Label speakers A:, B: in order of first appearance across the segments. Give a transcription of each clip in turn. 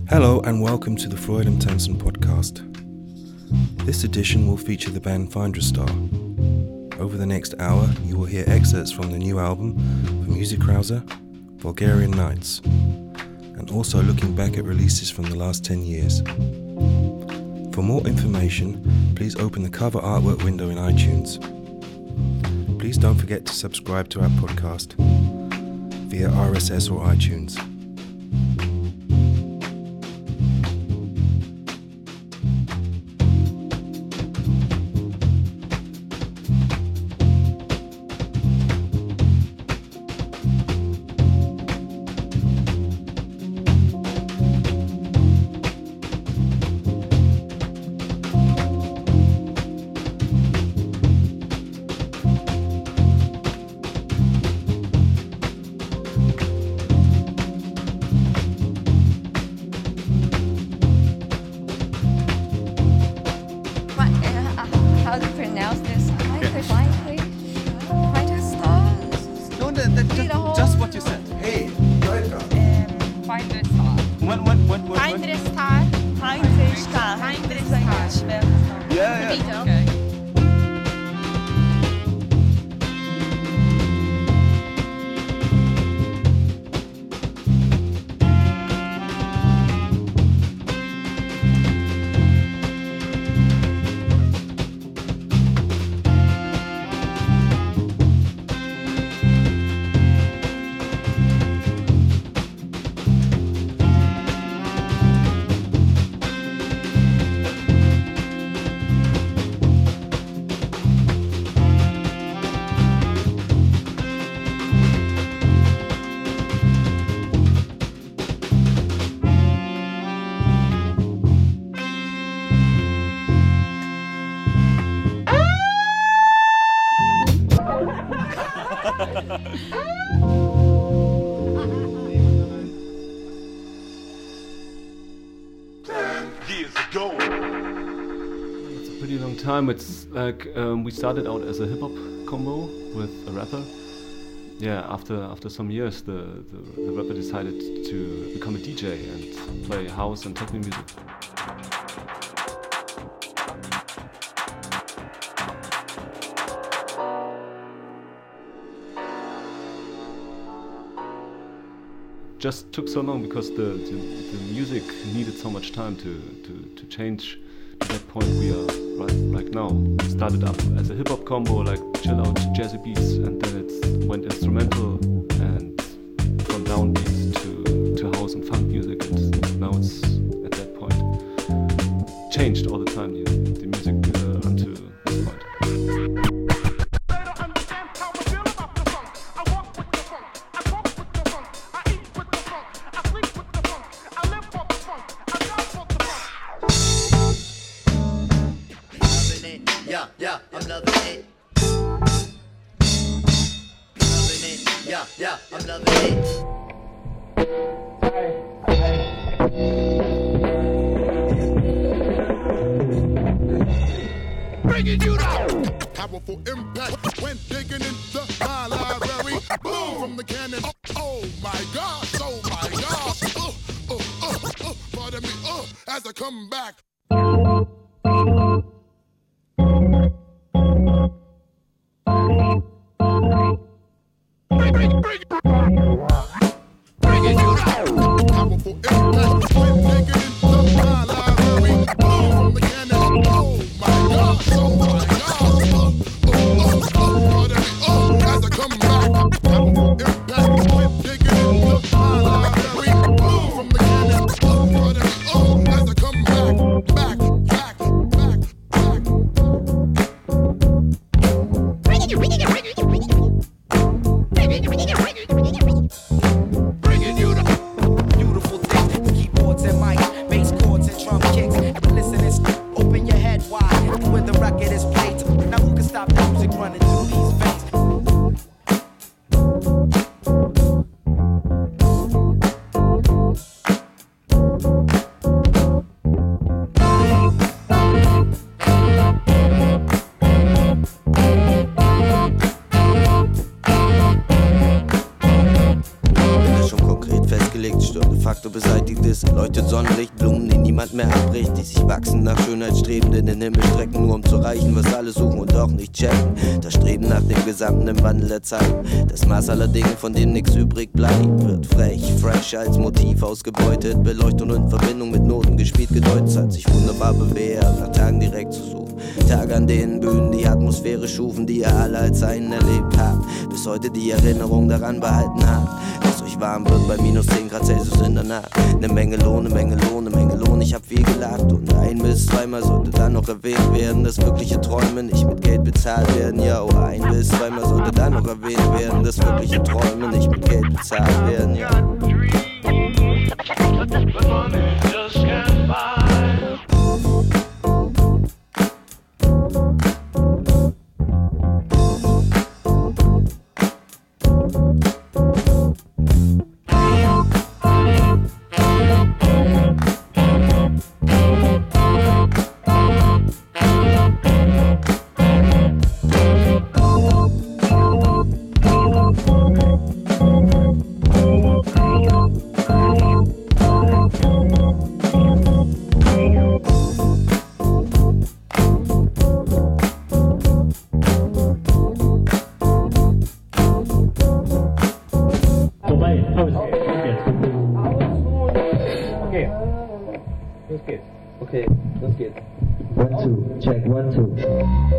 A: Hello and welcome to the Floyd and Tenson podcast. This edition will feature the band Finderstar. Over the next hour, you will hear excerpts from the new album from Musikkrause, Bulgarian Nights, and also looking back at releases from the last 10 years. For more information, please open the cover artwork window in iTunes. Please don't forget to subscribe to our podcast via RSS or iTunes.
B: Just what you said.
A: Hey, Leute!
C: Finderstar.
B: Yeah.
C: Okay.
D: It's a pretty long time. It's like we started out as a hip hop combo with a rapper. Yeah, after some years, the rapper decided to become a DJ and play house and techno music. Just took so long because the music needed so much time to change to that point we are right now. It started up as a hip-hop combo, like chill out jazzy beats, and then it went instrumental and from downbeats to house and funk music, and now it's at that point changed all the time, the music until this point.
E: Yeah, I'm loving it. Loving it. Yeah, I'm loving it.
F: Bringing you down. Powerful impact when digging into my library. Boom from the cannon. Oh my gosh, oh my gosh. Pardon me, as I come back. Bringing you down. Powerful impact when digging into my library. Boom from the cannon. Oh my gosh, oh my gosh. Pardon me, as I come back. Powerful impact when digging into my library. Boom from the cannon. Pardon me, as I come back. Bringing you the beautiful thing. Keep
G: ausgelegt. Stunde Faktor beseitigt ist, leuchtet Sonnenlicht, Blumen, die niemand mehr abbricht, die sich wachsen nach Schönheitsstrebenden in den Himmel strecken, nur um zu erreichen, was alle suchen und doch nicht checken. Das Streben nach dem Gesamten im Wandel der Zeit, das Maß aller Dinge, von denen nichts übrig bleibt, wird frech, fresh als Motiv ausgebeutet, Beleuchtung in Verbindung mit Noten gespielt, gedeutet, hat sich wunderbar bewährt, nach Tagen direkt zu suchen. Tage, an denen Bühnen die Atmosphäre schufen, die ihr alle als einen erlebt habt, bis heute die Erinnerung daran behalten habt, dass euch warm wird bei minus 10 Grad Celsius in der Nacht. Ne Menge Lohn, ne Menge Lohn, ne Menge Lohn, ich hab viel gelacht und 1 bis 2 Mal sollte dann noch erwähnt werden, dass wirkliche Träume nicht mit Geld bezahlt werden, ja, oh, 1 bis 2 Mal sollte dann noch erwähnt werden, dass wirkliche Träume nicht mit Geld bezahlt werden, ja.
H: Okay, los geht's. 1, 2, check, 1, 2.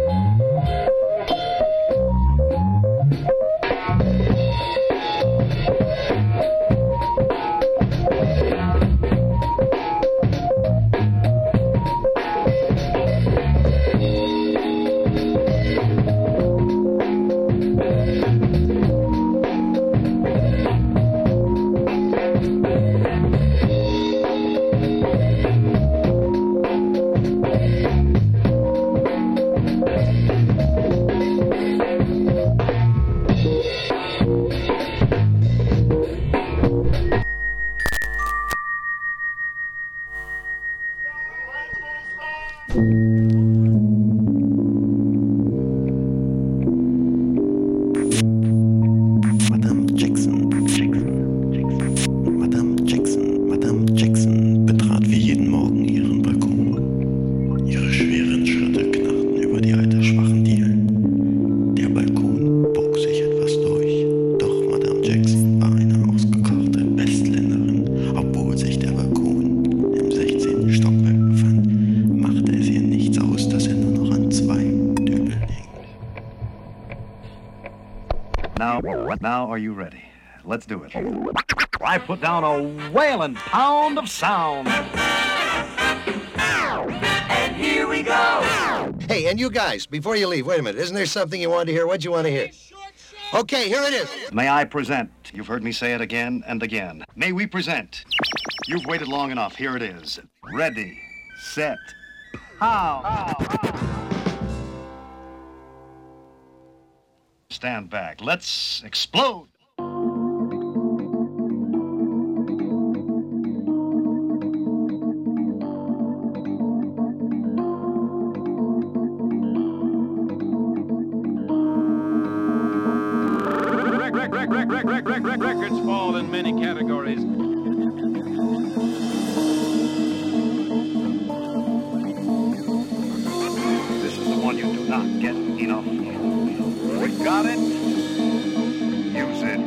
I: Now, are you ready? Let's do it. I put down a whaling pound of sound.
E: And here we go.
J: Hey, and you guys, before you leave, wait a minute. Isn't there something you wanted to hear? What'd you want to hear? Okay, here it is.
I: May I present? You've heard me say it again and again. May we present? You've waited long enough. Here it is. Ready, set, pow. Stand back. Let's explode.
K: Records fall in many categories.
I: This is the one you do not get enough. We got it. Use it.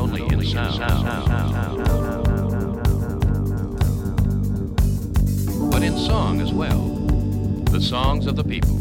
K: only in sound, but in song as well. The songs of the people.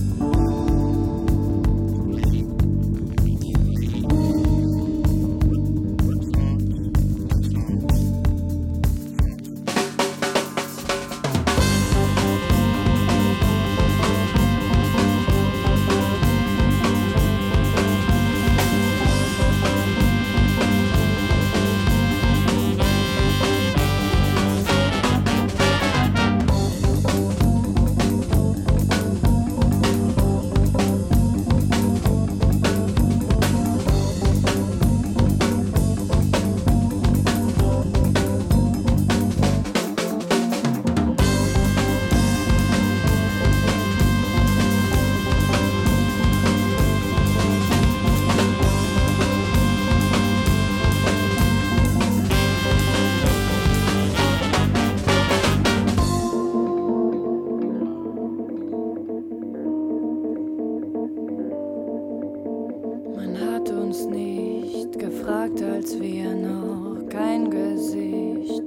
L: Als wir noch kein Gesicht,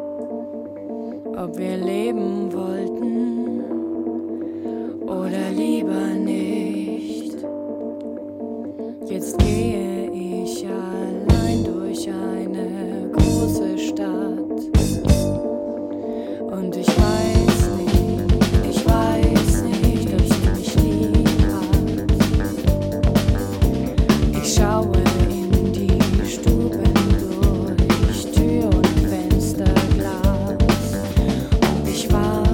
L: ob wir leben wollten oder lieber nicht. Jetzt gehe ich allein durch eine große Stadt und ich weiß nicht, ob sie mich lieb hat. Ich schaue durch Tür und Fensterglas und ich warte.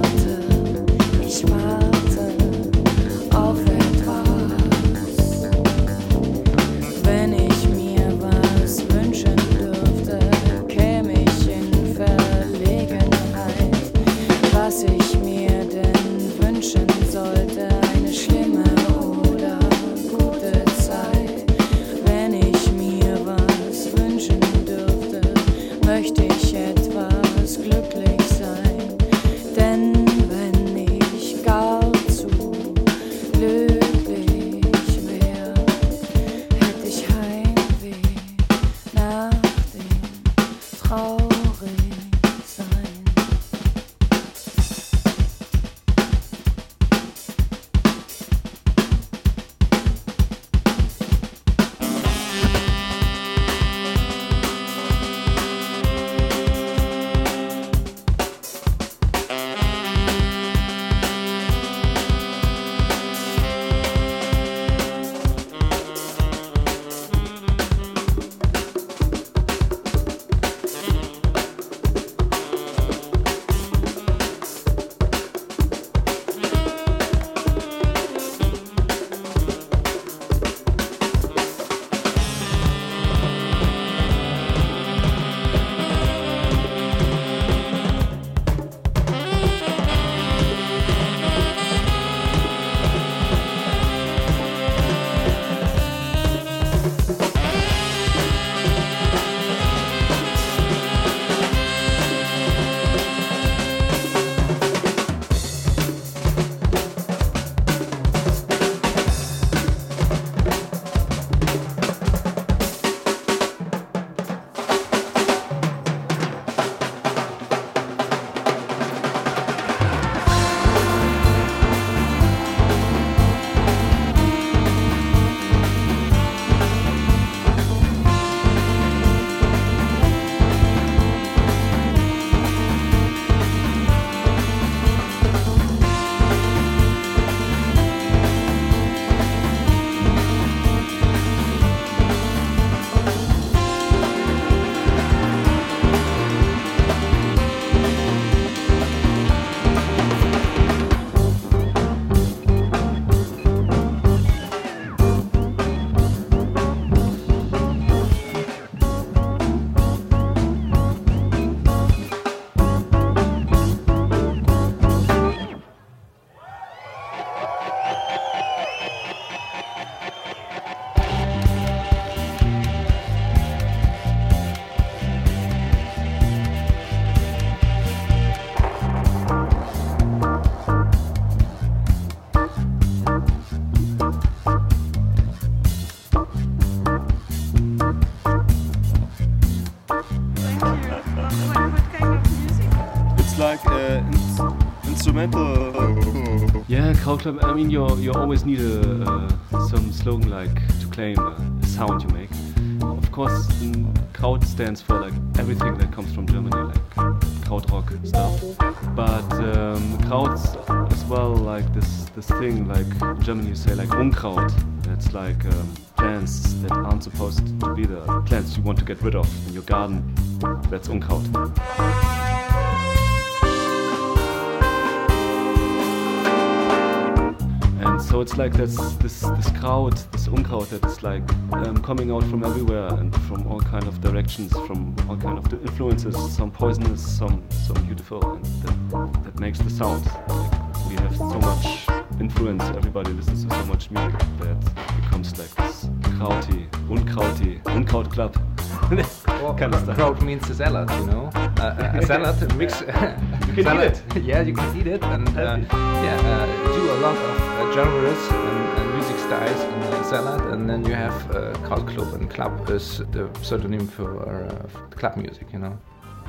B: instrumental.
D: Yeah, Krautclub. I mean, you always need some slogan like to claim a sound you make. Of course, Kraut stands for like everything that comes from Germany, like Krautrock stuff. But Krauts as well, like this thing, like in Germany you say like Unkraut. That's like plants that aren't supposed to be there. Plants you want to get rid of in your garden. That's Unkraut. And so it's like this Kraut, this Unkraut that is like coming out from everywhere and from all kind of directions, from all kind of influences, some poisonous, some beautiful, and that makes the sound. Like we have so much influence, everybody listens to so much music that becomes like this krauty, Unkraut club.
M: Kind of stuff. Kraut means a salad, you know. A salad mix.
D: You can
M: salad.
D: eat it.
M: Yeah, you can eat it, and do a lot of genres and music styles in a salad, and then you have Krautclub, and club is the pseudonym for club music, you know.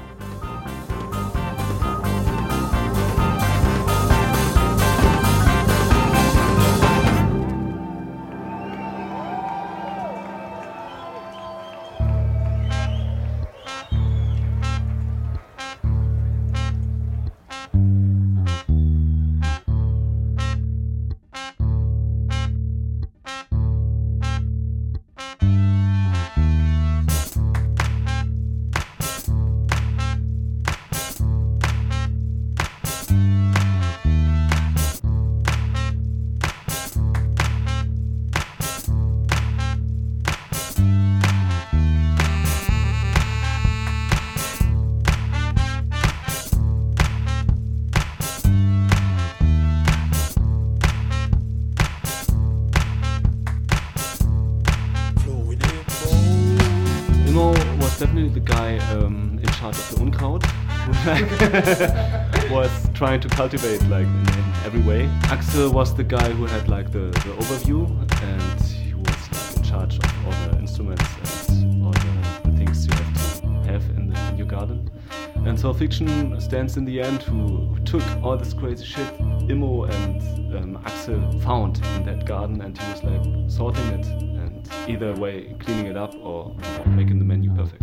D: Definitely the guy in charge of the Unkraut who was trying to cultivate like in every way. Axel was the guy who had like the overview, and he was like in charge of all the instruments and all the things you have in your garden. And so Fiction stands in the end who took all this crazy shit Immo and Axel found in that garden, and he was like sorting it and either way cleaning it up or making the menu perfect.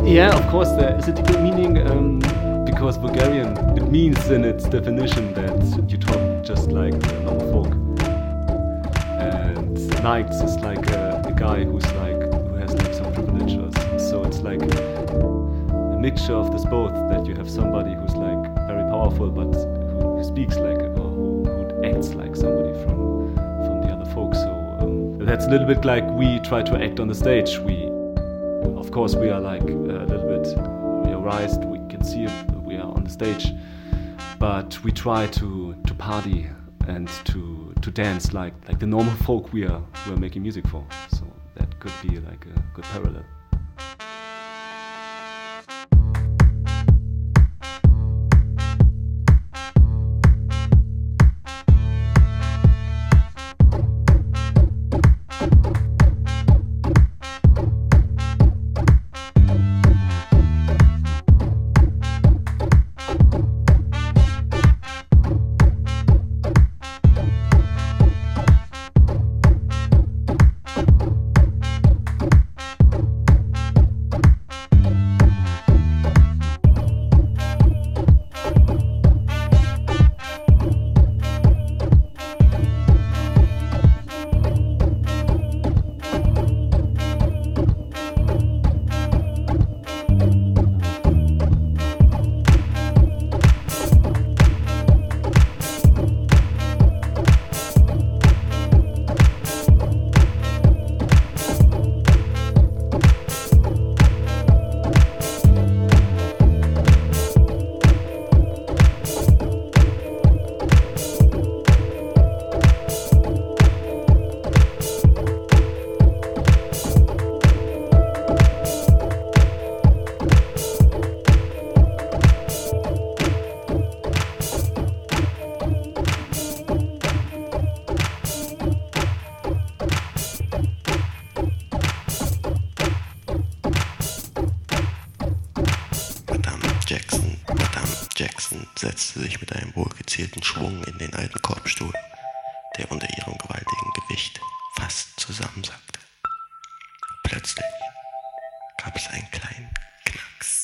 D: Yeah, of course, there is a deeper meaning because Bulgarian, it means in its definition that you talk just like normal folk. And Nikes is like a guy who has like some privilege, so it's like a mixture of this both, that you have somebody who's like very powerful but who speaks like or who acts like somebody from the other folk. So that's a little bit like we try to act on the stage. Of course, we are like a little bit realized. We can see it. We are on the stage, but we try to party and to dance like the normal folk we're making music for. So that could be like a good parallel.
N: Setzte sich mit einem wohlgezielten Schwung in den alten Korbstuhl, der unter ihrem gewaltigen Gewicht fast zusammensackte. Plötzlich gab es einen kleinen Knacks.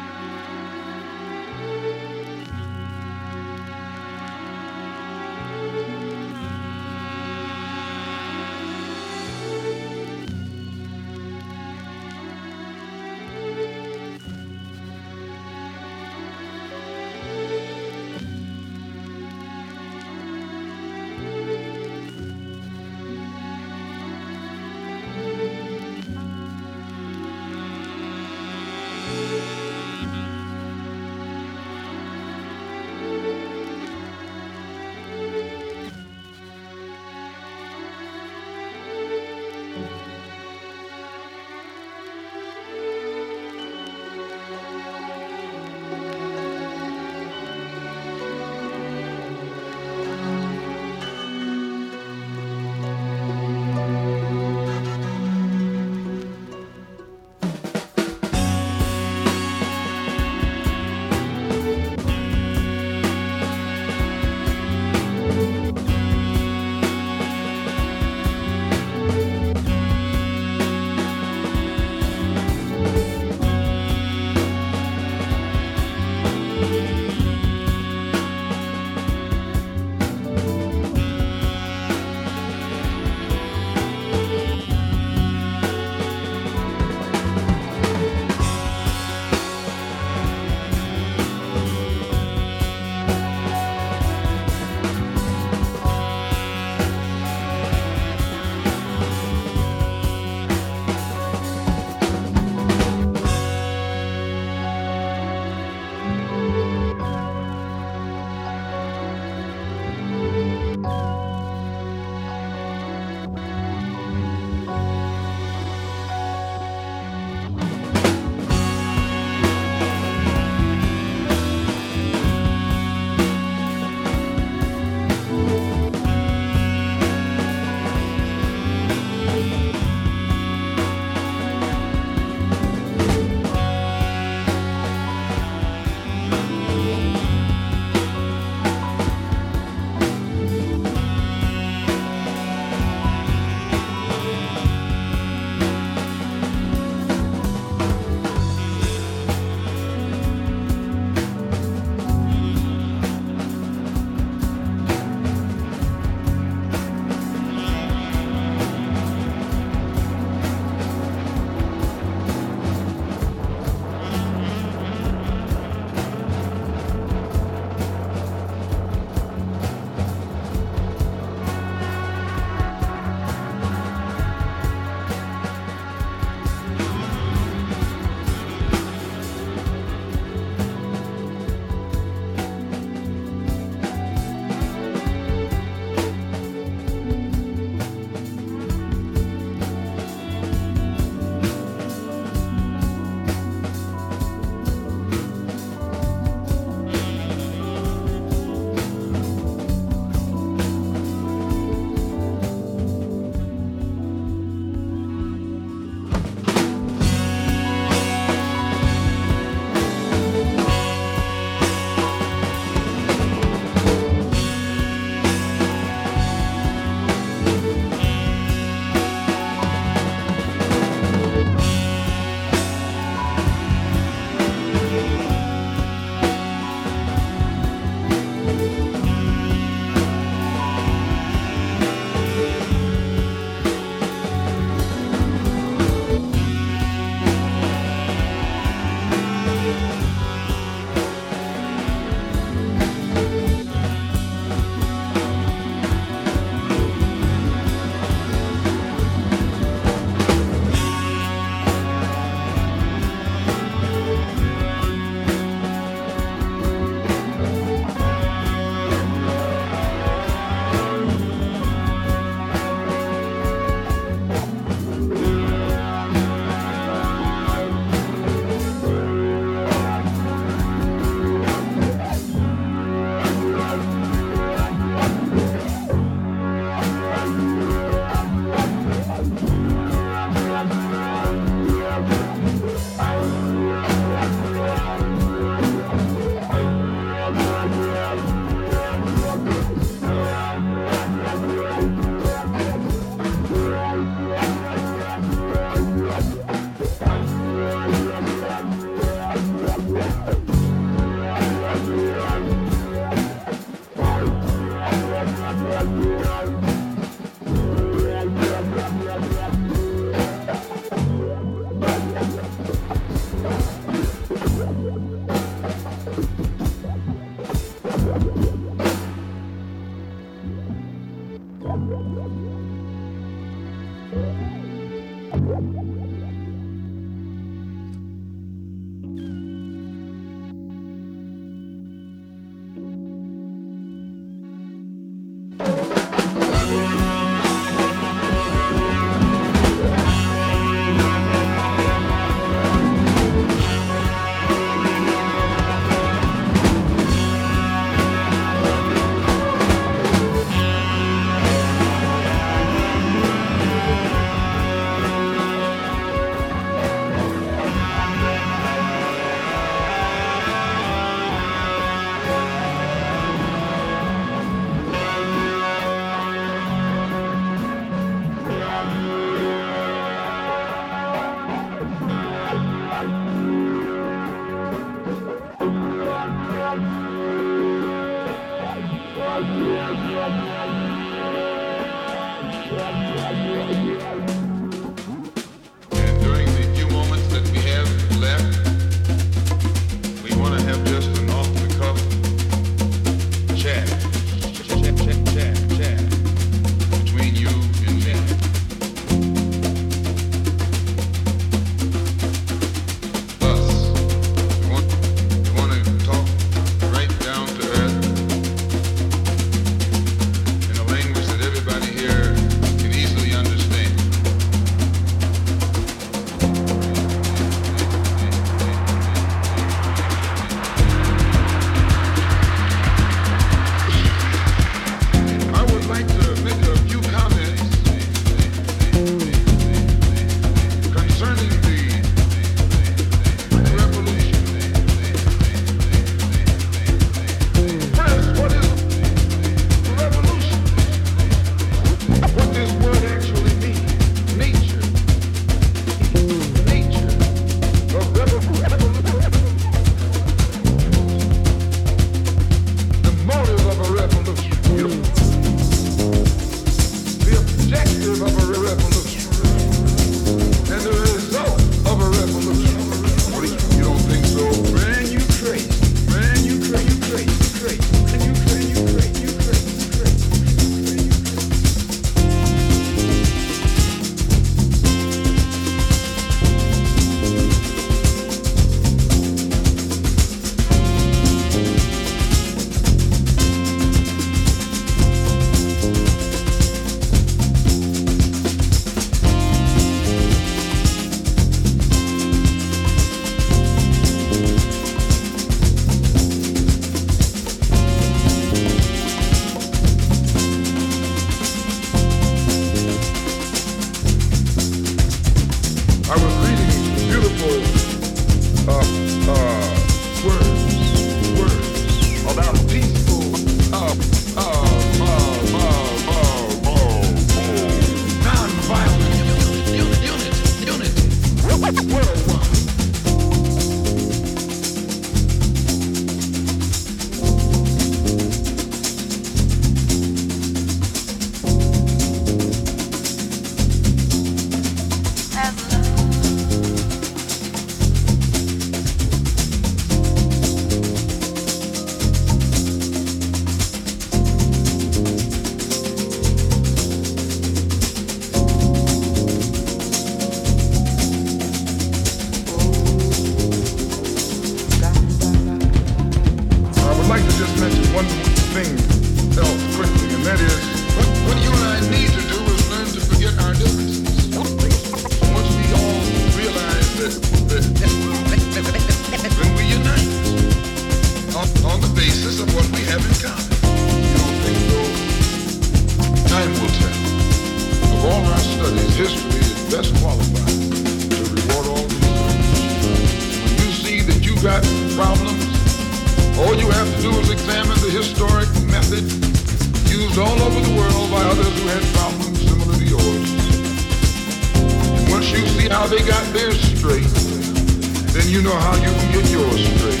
F: How they got theirs straight, then you know how you can get yours straight.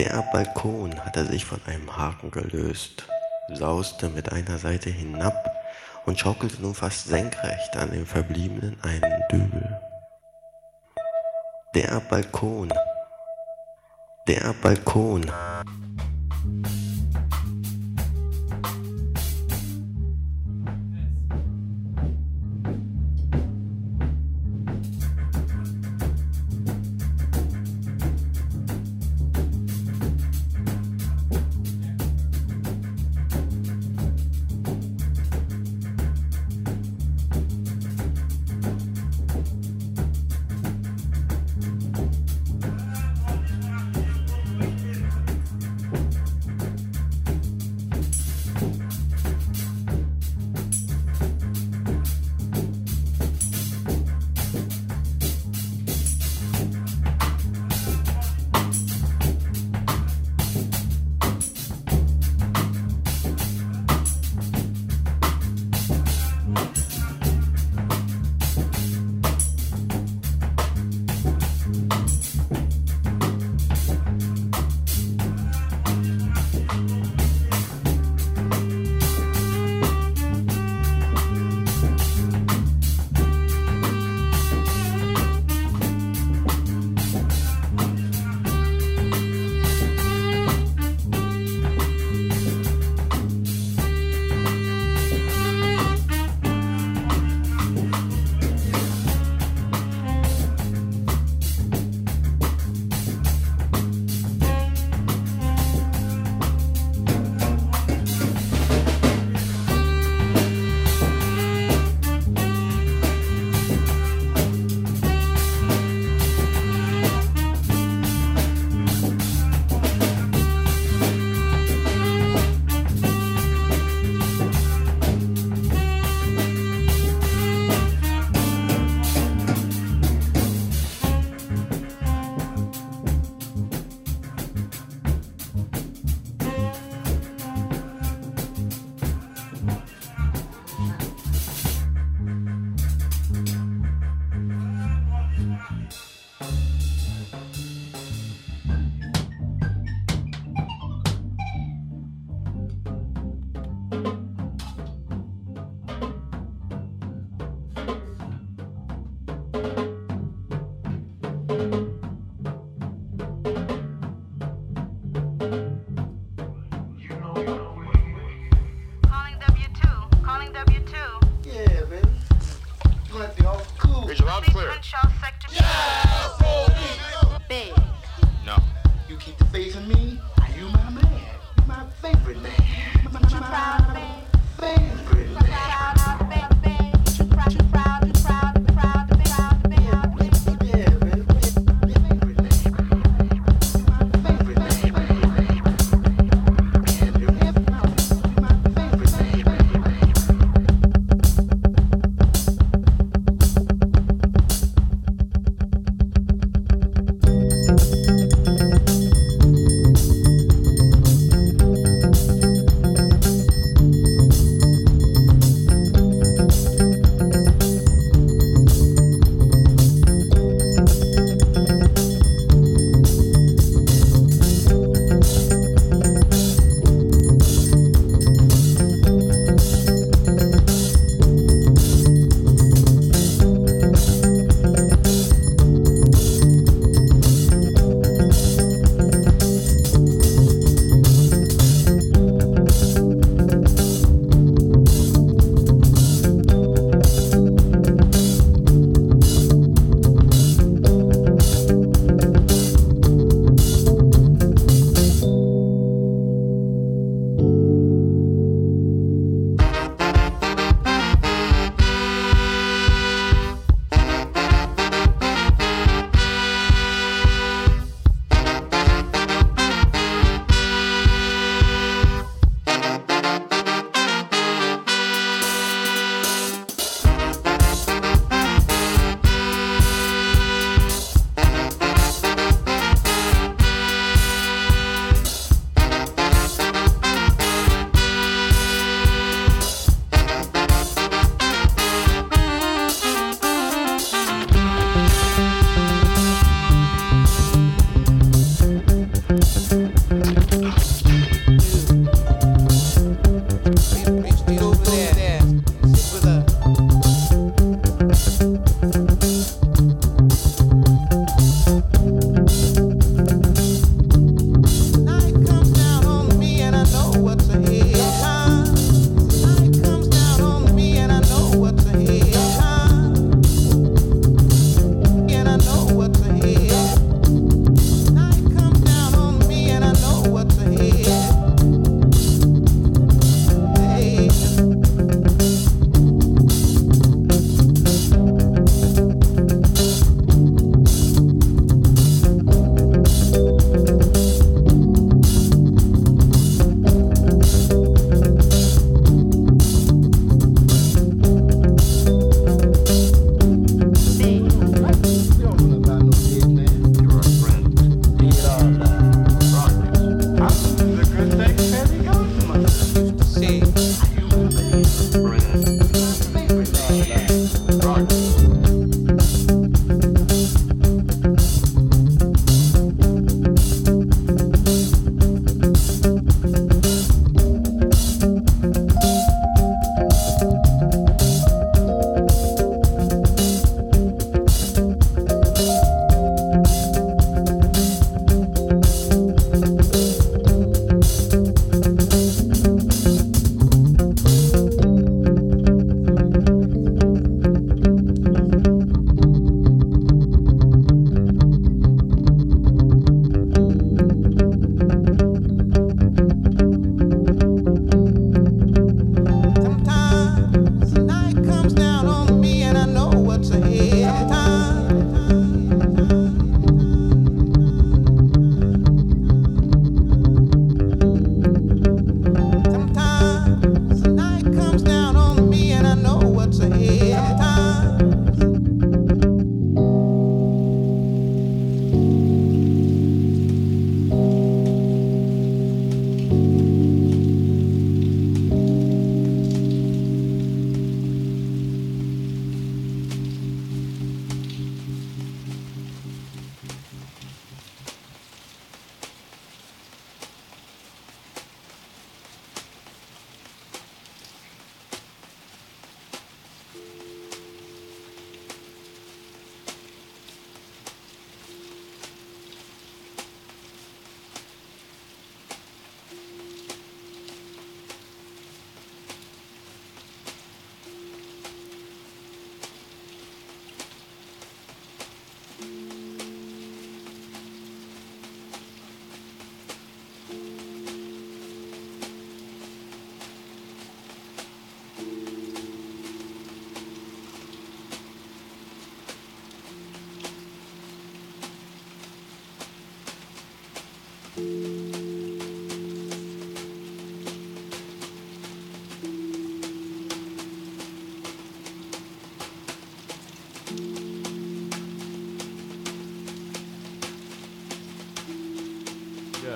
N: Der Balkon hatte sich von einem Haken gelöst, sauste mit einer Seite hinab und schaukelte nun fast senkrecht an dem verbliebenen einen Dübel. Der Balkon. Der Balkon.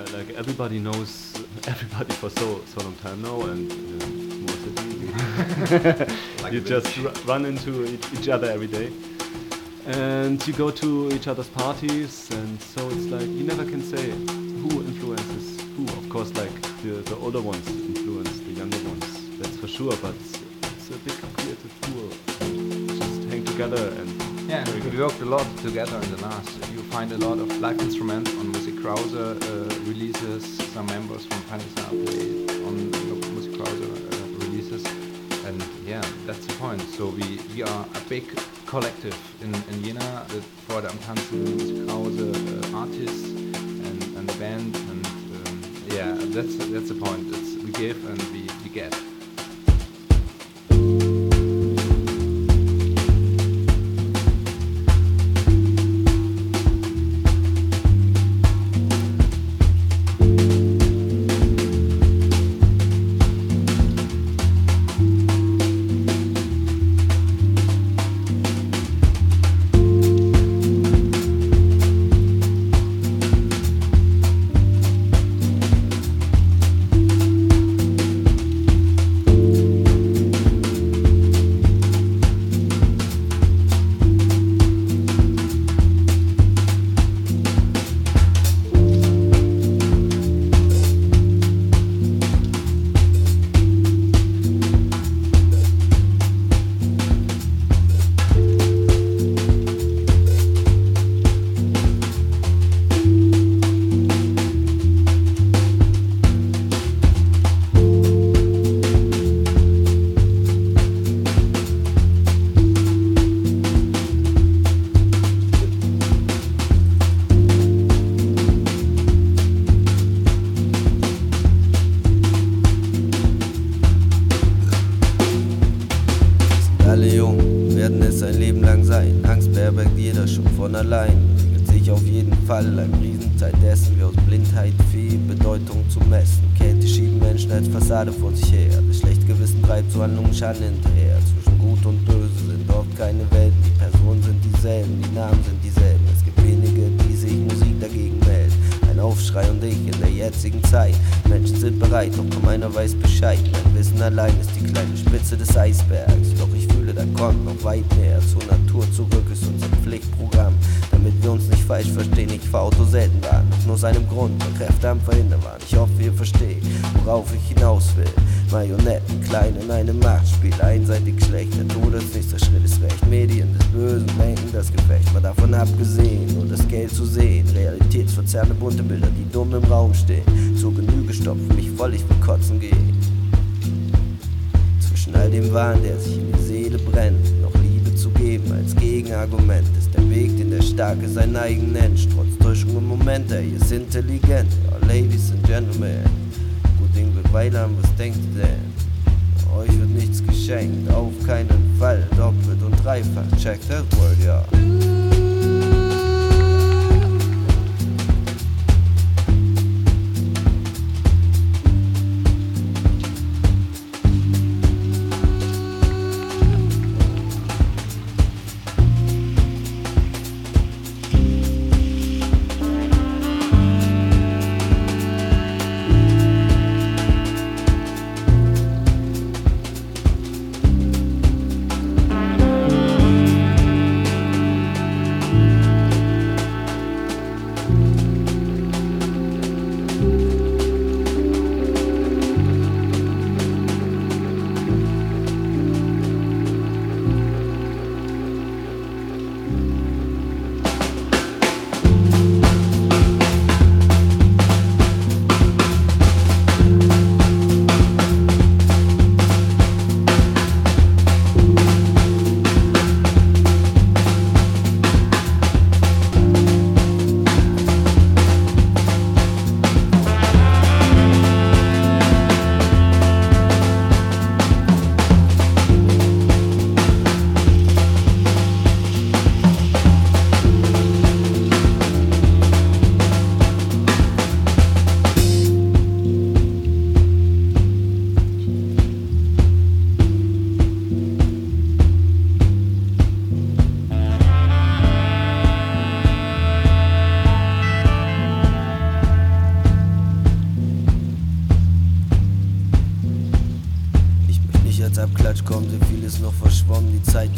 D: like everybody knows everybody for so long time now, and small city, like you just run into each other every day, and you go to each other's parties, and so it's like you never can say who influences who. Of course, like the older ones influence the younger ones, that's for sure, but it's a big creative tool. Just hang together and
M: yeah, we worked a lot together in the last. You find a lot of live instruments on Musik Krause releases. Some members from Pandesar play on Musik Krause releases, and yeah, that's the point. So we are a big collective in Jena, the Freude am Tanzen, Musik Krause artists and the band, and yeah, that's the point. We give and we get.
G: Vor sich her. Das schlechte Gewissen treibt zu Handlungen Schaden hinterher. Zwischen Gut und Böse sind oft keine Welten. Die Personen sind dieselben, die Namen sind dieselben. Es gibt wenige, die sich Musik dagegen melden. Ein Aufschrei und ich in der jetzigen Zeit. Menschen sind bereit, doch kaum einer weiß Bescheid. Mein Wissen allein ist die kleine Spitze des Eisbergs. Doch ich fühle, da kommt noch weit mehr. Zur Natur zurück ist unser Pflichtprogramm. Damit wir uns nicht falsch verstehen, ich fahr Auto selten Bahn. Doch nur seinem Grund, weil Kräfte am Verhindern waren. Ich hoffe, ihr versteht, worauf ich hinaus will. Marionetten, klein in einem Machtspiel, einseitig schlecht. Der Todesnächster Schritt ist recht. Medien des Bösen lenken das Gefecht. Mal davon abgesehen, nur das Geld zu sehen. Realitätsverzerrende bunte Bilder, die dumm im Raum stehen. Zur Genüge stopfen mich voll, ich will kotzen gehen. Zwischen all dem Wahn, der sich in die Seele brennt, noch Liebe zu geben als Gegenargument, ist der Weg, den der Starke seinen eigen nennt. Trotz Täuschung im Moment, er ist intelligent. Ja, Ladies and Gentlemen, gut Ding wird weilern, was denkt ihr denn? Euch wird nichts geschenkt, auf keinen Fall, doppelt und dreifach, check that word, ja.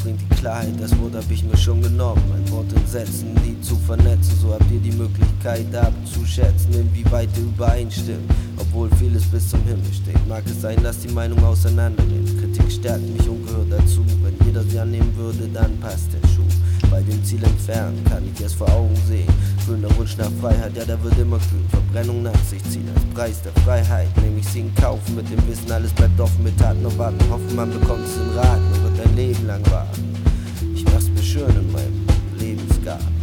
G: bringt die Klarheit, das Wort hab ich mir schon genommen. Ein Wort in Sätzen, die zu vernetzen, so habt ihr die Möglichkeit abzuschätzen, inwieweit ihr übereinstimmt. Obwohl vieles bis zum Himmel steht, mag es sein, dass die Meinung auseinandernimmt. Kritik stärkt mich und gehört dazu, wenn jeder sie annehmen würde, dann passt der Schuh. Bei dem Ziel entfernen kann ich es vor Augen sehen. Fühlender Wunsch nach Freiheit, ja, der wird immer kühl. Verbrennung nach sich ziehen als Preis der Freiheit. Nehme ich sie in Kauf mit dem Wissen, alles bleibt offen mit Taten und Warten. Hoffen, man bekommt es in Rat, man wird ein Leben lang warten. Ich mach's mir schön in meinem Lebensgarten.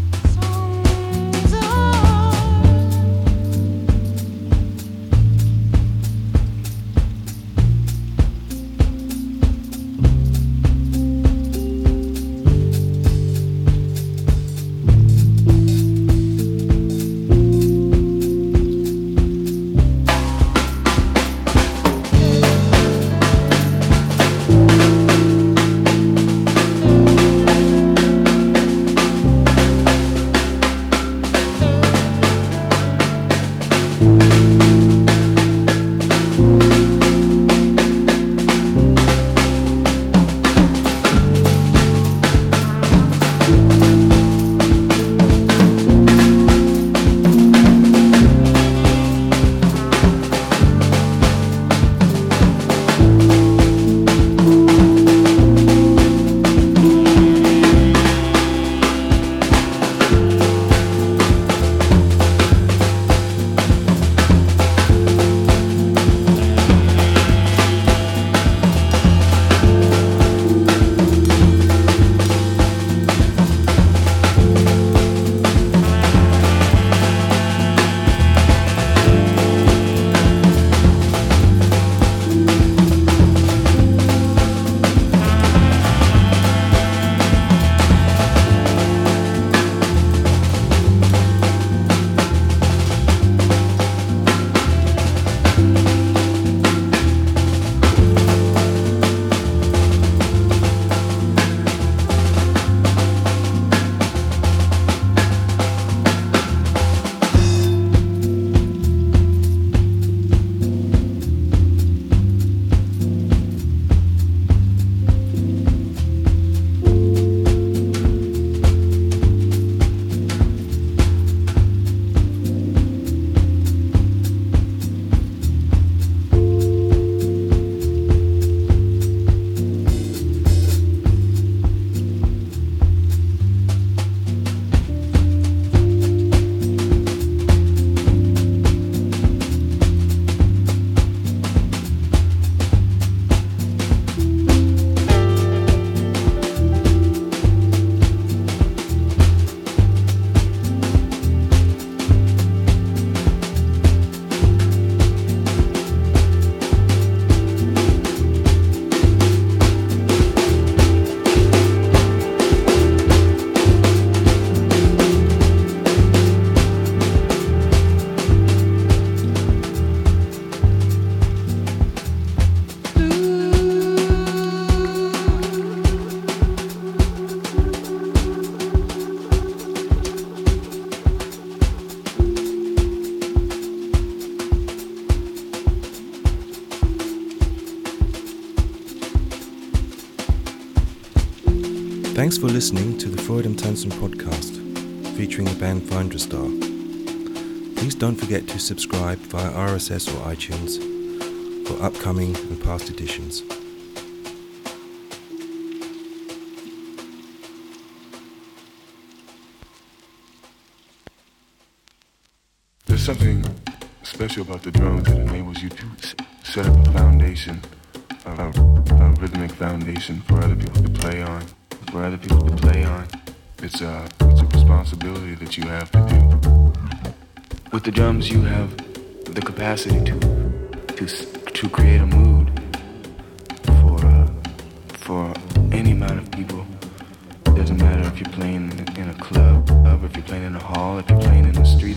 A: Thanks for listening to the Freud and Tansen podcast, featuring the band Finderstar. Please don't forget to subscribe via RSS or iTunes for upcoming and past editions.
O: There's something special about the drums that enables you to set up a foundation, a rhythmic foundation for other people to play on. It's a responsibility that you have to do. With the drums, you have the capacity to create a mood for any amount of people. It doesn't matter if you're playing in a club, if you're playing in a hall, if you're playing in the streets.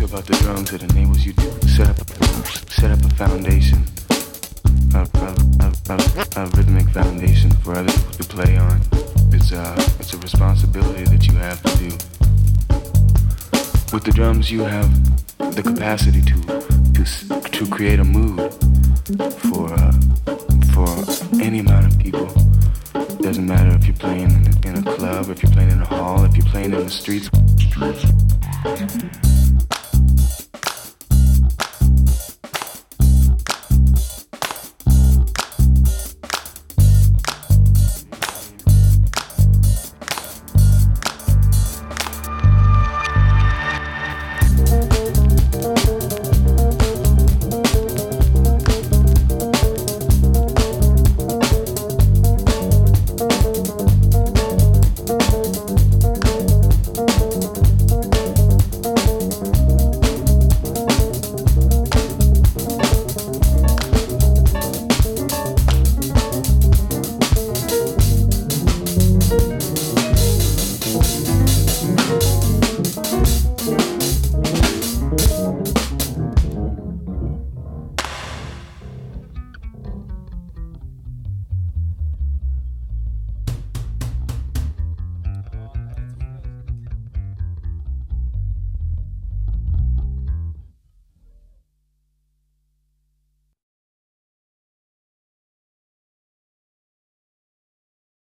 O: about the drums that enables you to set up a foundation, a rhythmic foundation for other people to play on. It's a responsibility that you have to do. With the drums, you have the capacity to create a mood for any amount of people. Doesn't matter if you're playing in a club, if you're playing in a hall, if you're playing in the streets.